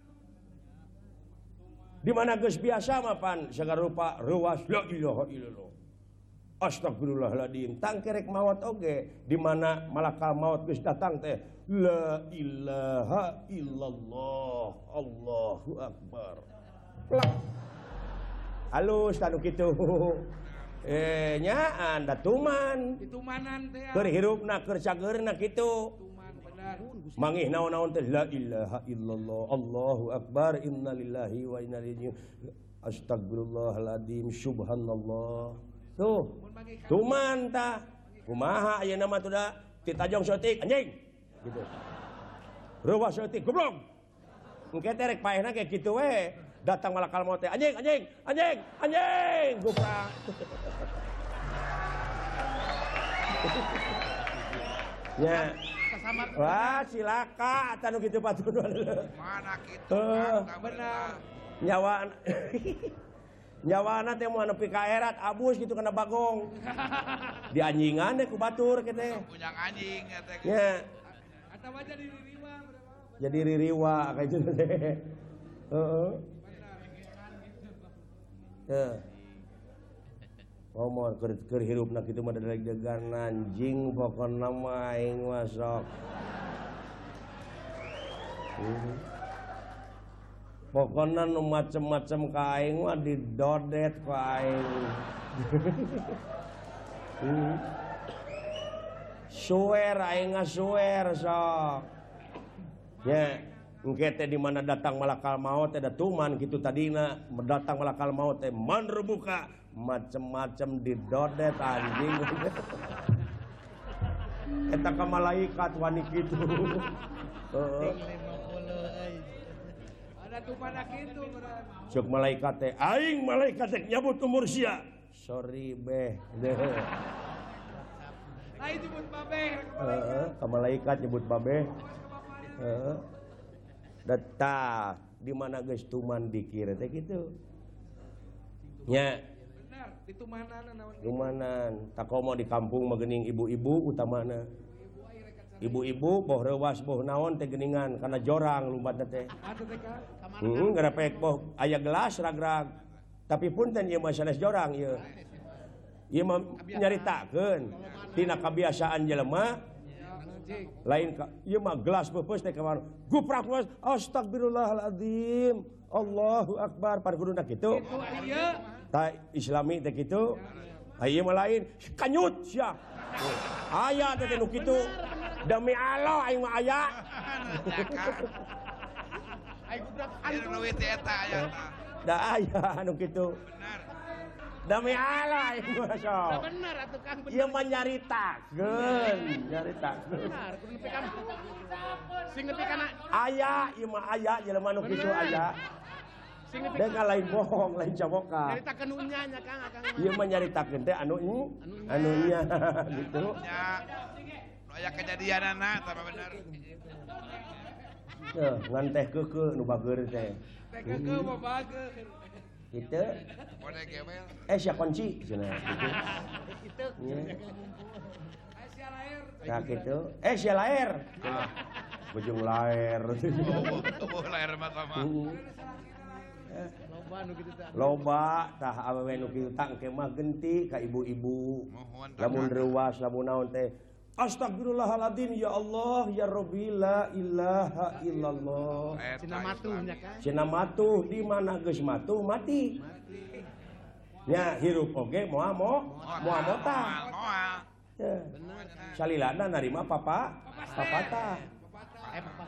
di mana geus biasa mah pan sagala rupa ruas la ilaha illallah astagfirullahaladzim tang kerek maot oge di mana malakal maut geus datang teh la ilaha illallah Allahu akbar plak halus tanu kitu eh nyaan da tuman Ditumanan teh. keur hirupna keur cageurna kitu Tuman benar. mangih naon-naon teh la ilaha illallah Allahu akbar innalillahi wa inna ilaihi astagfirullahaladzim subhanallah tuh tuman tah kumaha ayeuna mah tuh da ti tajong seutik anjing gitu reuwas seutik goblok engke teh rek paehna kayak kitu we datang malakal maut teh anjing anjing anjing anjing guprak ya wah silaka atuh nu kitu patuh Mana kitu Eh, kan, benar. nyawa nyawana teh mau nepi ka erat abus gitu kena bagong di anjingan deh ku batur kete punya anjing ya teh. nya Atau aja di ririwa berapa? jadi ririwa kayak gitu teh heeh ya ngomong keur keur hirupna kitu mah dari degan anjing pokona mah aing mah sok hmm. Pokona nu macem-macem ka aing mah didodet ku aing hmm. Suwer aing ngasuwer sok ya engke teh di mana datang malakal maut teh datuman gitu tadina datang malakal maut teh man rebuka macem-macem didodet anjing. Eta ka malaikat wani kitu. Heeh. Ada tumana kitu beneran. Sok malaikat teh aing malaikat teh nyabut umur sia. Sorry beh. Lain nyebut babeh. Heeh, ka malaikat nyebut babeh. Heeh. Data di mana geus tuman dikir teh kitu. Nya Benar, di tumanana naon. tumanan takomo di kampung mah geuning ibu-ibu utamana. Ibu-ibu boh reuwas boh naon teh geuningan kana jorang lumbatna teh. Atuh teh ka. Heeh, garepek boh aya gelas ragrag. Tapi punten ieu mah sanes jorang ieu. Ieu mah nyaritakeun tina kabiasaan jelema lain ka ieu mah gelas peupeus teh kamar guprak gelas astagfirullahalazim Allahu akbar par kuduna kitu Itu ieu. ta islami teh kitu ieu mah lain kanyut sia aya teh nu kitu demi Allah aing mah aya Aing gubrak Ini duit eta aya tah. da aya anu kitu Benar. demi Allah aing mah sok bener atuh Kang bener. ieu mah nyaritakeun nyaritakeun Benar, kudu nepi kan. Sing nepi kana aya ieu mah aya jelema nu kitu aya sing nepi dan lain bohong lain caboka nyaritakeun unya nya Kang Akang. ieu mah nyaritakeun teh anu anu nya gitu Ya. Nu aya kejadianana tah mah bener. teh ngan teh keukeu nu bageur teh Teh keukeu mah bageun. kitu Mode gembel. eh sia kunci cenah gitu Kitu. nya Aya sia lair. nah gitu eh sia laer cenah bujung laer Tubuh tubuh lahir mah sama. Loba nu kitu teh. loba tah awewe nu kitu tang ke mah genti ka ibu-ibu Mohon lamun reuwas lamun naon teh astagfirullahaladzim ya Allah ya Rabbi la ilaha illallah Cina matuhnya Kang. cenah matuh di mana geus matuh mati nya hirup oge moal mo moal mota Moal. ya salilana narima papa papata Eh papa.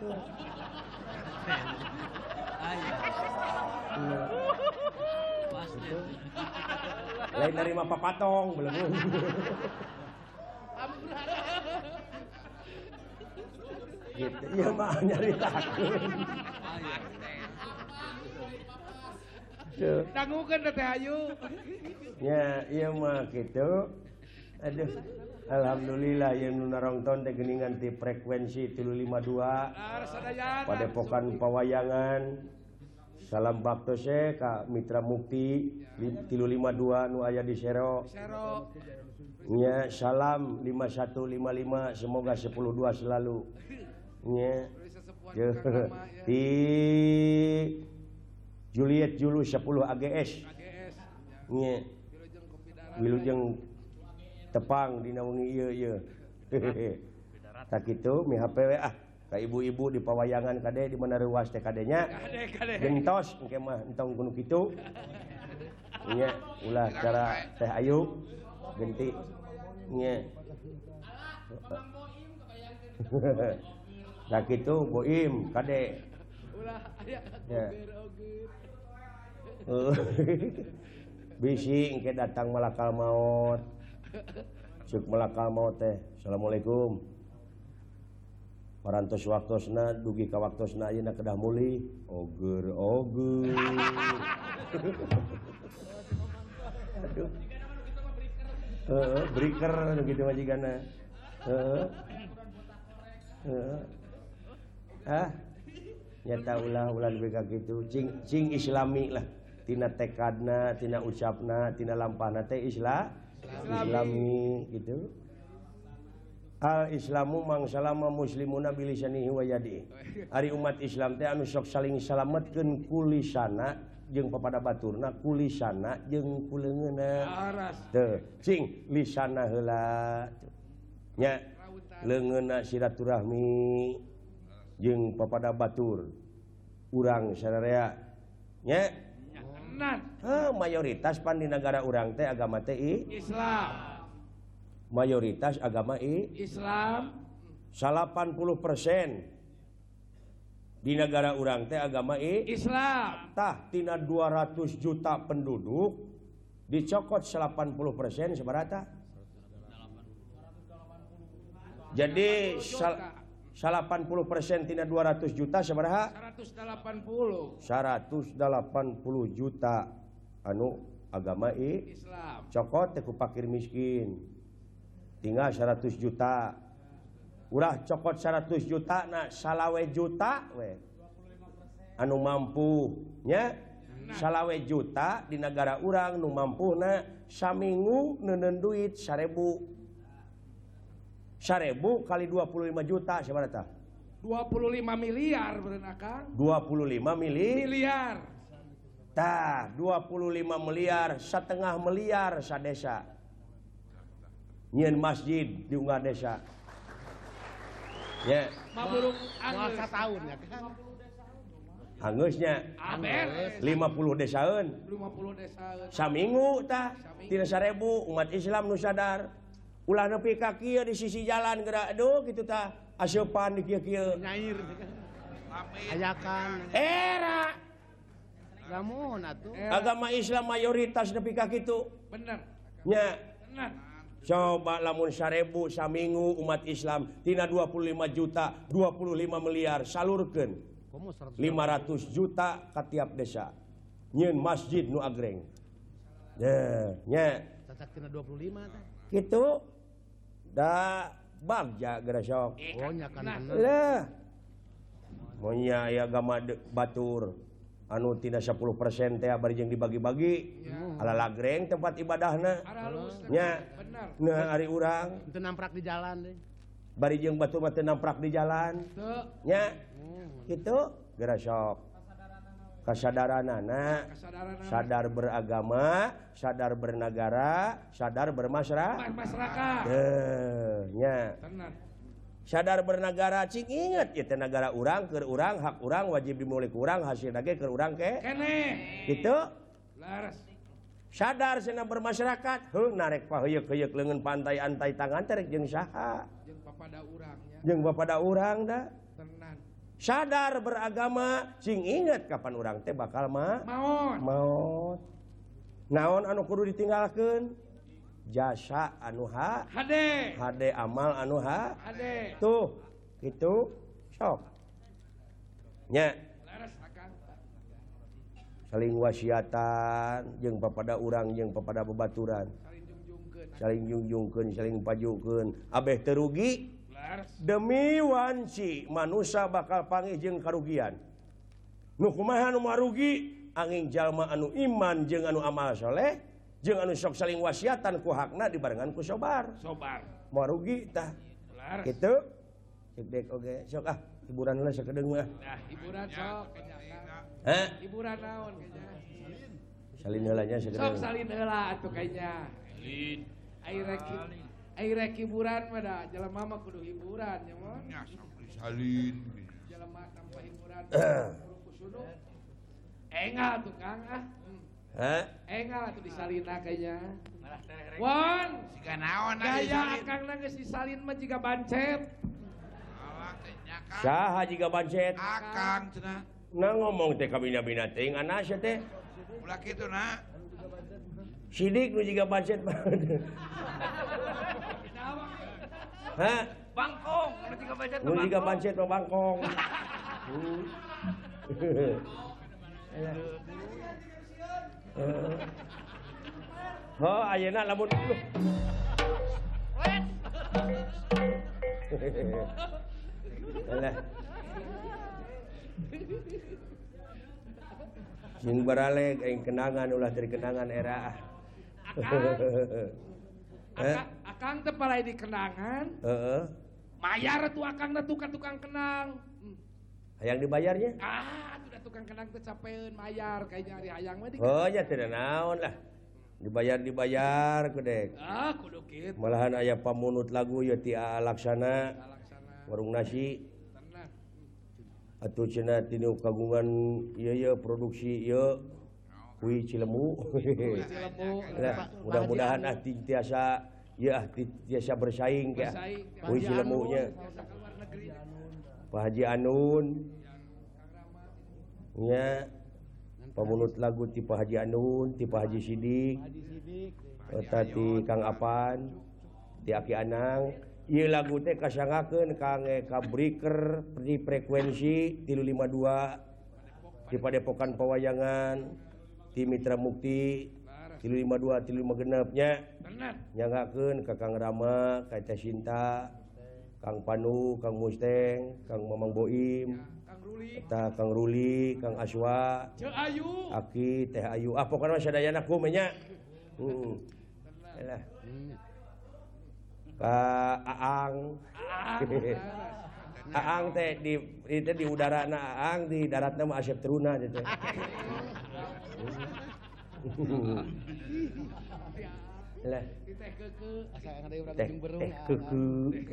lain narima papatong belum gitu iya mah nyaritakeun Tuh. Dangukeun teh hayu. Ya, iya mah gitu. Aduh. Alhamdulillah yang nu narongton teh geuningan ti frekuensi tilu lima dua Dar sadayana. Padepokan Pawayangan. Salam baktose ka Mitra Mukti tilu lima dua nu aya di Sero. Sero. Nya salam lima satu lima lima semoga sepuluh dua selalu. Nya. Terus sesepuan Jeuh. Kang Rama ya. Ti Juliet Julu sepuluh A G S. A G S. Nya. Wilujeng kopi darah. Wilujeng tepang dina wengi ieu ieu. Tak kitu mi H P W ah ka ibu-ibu di Pawayangan kade di mana reuas teh kadenya. Kade kade. Gentos engke mah entong kudu kitu. Nya ulah cara Teh Ayu genti. Nya. Tak kitu Boim kade. Ulah aya Ya. oger-oger. Bisi engke datang malakal maut. Cuk malakal maut teh. Assalamualaikum. Parantos waktosna dugi ka waktosna ayeuna kedah muli. Oger oger. Aduh. Heeh, breaker nu kitu majigana. Heeh. Heeh. Ah. Nyata ulah ulah lebih ka kitu. Cing cing islami lah. Tina tekadna, tina ucapna, tina lampahna teh isla islami gitu. Al Islamu mangsalama muslimuna bilisanihi wa yadi. Ari umat Islam teh anu sok saling salametkeun kulisana jeung papada baturna, kulisana jeung kuleungeunna. Aras. Teu, cing lisana heula. Nya leungeunna silaturahmi jeung papada batur. Urang sadarea. Nya Nah, Heh, mayoritas pan di negara urang teh agama teh i, Islam. mayoritas agama i Islam. delapan puluh persen di negara urang teh agama I Islam. tah tina dua ratus juta penduduk dicokot delapan puluh persen seberapa? Jadi sal, delapan puluh persen tina dua ratus juta seberapa? seratus delapan puluh. seratus delapan puluh juta anu agama I Islam. cokot teh ku fakir miskin. Tinggal seratus juta. Ulah cokot seratus juta na salawe juta we. Anu mampu nya salawe juta di negara urang nu mampuna saminggu neuneun duit seribu. seribu kali dua puluh lima juta sabaraha tah? dua puluh lima miliar berenang Kang. dua puluh lima mili Miliar. tah dua puluh lima miliar setengah miliar sadesa. Nyeun masjid di unggah desa. Ya, Maburung Mual anggeus. satahun ya kan. anggeusnya Aberes. lima puluh desaeun. lima puluh desa. Saminggu tah tina seribu umat Islam nu sadar. Ulah nepi ka kieu di sisi jalan geura aduh kitu tah aseupan di kieu-kieu. Nyair ayakan Era lamun atuh. agama Islam mayoritas nepi ka kitu. Bener. Nya Bener. coba lamun seribu saminggu umat Islam tina dua puluh lima juta dua puluh lima miliar salurkeun Komo seratus. lima ratus juta ka tiap desa. Nyeun masjid nu agreng. Nah, nya Cacak tina dua puluh lima teh. kitu da bagja geura sok. Oh nya kan bener. Lah. Monya aya agama de- batur anu tina sepuluh persen teh bari jeung dibagi-bagi. Ala lagreng tempat ibadahna. Aralus. Nya. Bener. Nah ari urang Itu namprak di jalan deh. bari jeung batur mah teu namprak di jalan. Teu. Nya. Kitu geura sok. Kasadaranana Kesadaran sadar beragama, sadar bernegara, sadar bermasyarakat. masyarakat. Teh, nya. Tenan. Sadar bernegara cing inget ieu teh negara urang keur urang hak urang wajib dimulih ku urang hasil ge keur urang ke. Kene. Kitu Laras. sadar cenah bermasyarakat heuh narek paheuyeuh-heuyeuh leungeun pantai antai tangan teh rek jeung saha Jeung papada urangnya. jeung bapada urang da Tenan. sadar beragama cing inget kapan urang teh bakal ma Maon. maut naon anu kudu ditinggalkeun jasa anu ha Hade. hade amal anu ha Hade. tuh gitu sok nya Laras Akang. saling wasiatan jeung papada urang jeung papada babaturan Saling jungjungkeun. saling jungjungkeun saling pajukeun abeh teu rugi Laras. demi wanci manusia bakal panggih jeung karugian nu kumaha anu marugi angin jalma anu iman jeung anu amal soleh jeung anu sok saling wasiatan ku hakna dibarengan ku sobar Sobar. marugi tah Laras. kitu cek dek oge sok ah hiburan heula sakedeung mah Nah, hiburan sok kayaknya, Kang. heh Hiburan naon kayaknya. salin heula nya Sok sakedeung salin heula atuh kayaknya. Ai rek ai rek hiburan mah da jelema mah kudu hiburan nya mon. Ya, sampai salin. Jelema tanpa hiburan kudu kusunu. Engal tuh Kang ah. Hmm. heh Engal tuh disalina kayaknya. Won, Siga naon atuh gaya disalin. Akang na geus disalin mah jiga bancet. Alah teh nya Kang. saha jiga bancet Akang cenah. nah ngomong teh ka bina-bina teh anak sia teh Ulah kitu na. sidik nu jiga bancet mah hah Bangkong, anu tiga bajet nu jiga bancet mah bangkong Hmm. Oh, ayeuna lamun Alah. Sing baraleg aing kenangan ulah dari kenangan era. Akang, Akang teh palai di kenangan. Heeh. Mayar tuh Akang na tukang tukang kenang. Hmm. Hayang dibayarnya? Ah, sudah tukang kenang teh capeun mayar kayaknya hari hayang mah di. Oh, nya teu naon lah. Dibayar-dibayar ku dek. Ah, kudu kitu. Malahan aya pamunut lagu ya ti A Laksana Laksana warung nasi tenan. atuh cenah tinu kagungan ieu ieu produksi ieu kui Cilemu. Cilemu. Nah, mudah-mudahan ah ti- tiasa ya ah ti- tiasa bersaing ke Bersaing. kui Cilemu nya. Biasa ke luar negeri. Pak Haji Anun nya pemulut lagu tipe Haji Anun, tipe Haji Sidik, Haji Sidik. eta ti Kang Apan, ti Aki Anang. Ieu lagu teh kasangakeun Kang Eka Breaker di frekuensi tilu lima dua di Padepokan Pawayangan, ti Mitra Mukti tilu lima dua tilu lima genep nya. Nyangakeun ka Kang Rama, ka Teh Sinta, Kang Panu, Kang Musteng, Kang Mamang Boim, eta Kang Ruli, Kang Aswa, Ceu Ayu, Aki, Teh Ayu. Ah pokona sadayana kumaha nya. Heeh. Elah. Ka Aang. Aang teh di itu di udara na Aang, di daratna mah Asep Teruna teh. Elah. teh keke, Asa ngade urang Teh jeung berung. teh keukeu.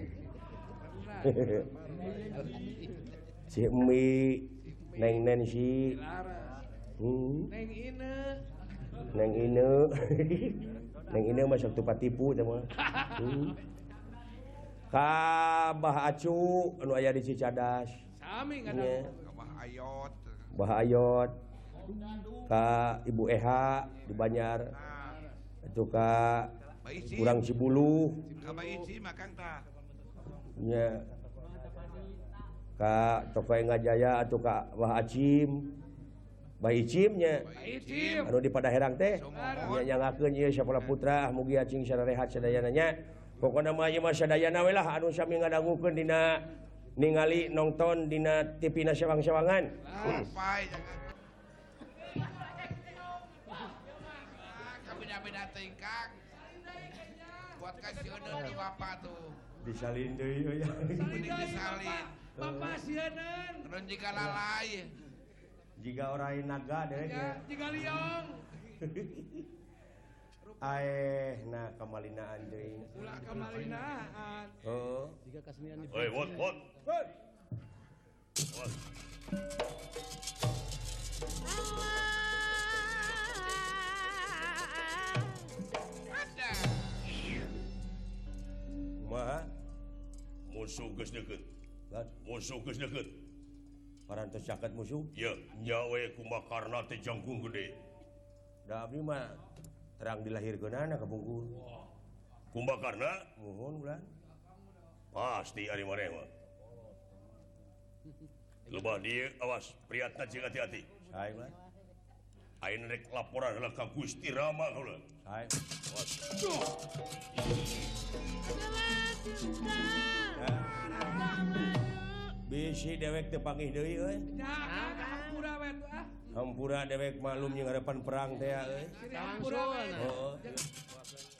Si Emi, Neng Nancy, hmm, Neng Ine, Neng Ine, Neng Ine mah sok tupat tipu teh mah. Hmm. Ka Bah Acu anu aya di Cicadas. sami Nya. kadang. Kabah ayot. Bah Ayot. Ka Ibu Eha di Banjar. Itu ka Baisi. Urang Cibulu. Kabah isi makang tah. Nya. Ka Toko Ngajaya atuh ka Bah Acim. Bah Icim nya. Icim, Anu di Padaherang teh. Sumohon. Nya nyangakeun ieu Sapola Putra mugi acing sararehat sadayana nya. Pokona mah ieu mah sadayana we lah anu sami ngadangukeun dina ningali nonton dina T V na sewang-sewangan. Sampai jangan. Kami beda tingkang. Buat kasih udah di bapak tuh. Disalin deui ya. Mending disalin. Bapak sieun. Terus jika lalai. Jika orang naga deh Ya, jika liong. aeh nah kemalinaan deui. Ulah kemalinaan. Oh. Jika kasenian di Oi, wot, wot. Wot. Ada. Kumaha? Musuh geus deukeut. Lan Musuh geus deukeut. parantos caket musuh. Ya, nyawe kumakarna teh jangkung gede. Da abdi mah terang dilahirkeunana ka bungkur. Kumbakarna Muhun ulah. pasti ari maneh mah. Loba dieu awas, priatna jeung hati-hati. Sae ulah. Ayeuna rek laporan heula ka Gusti Rama heula. Sae. Awas. Bisi dewek teu panggih deui euy. Ya, hampura we tuh ah. Hampura dewek malum jeung harapan perang teh euy. Sini hampura we. Heeh.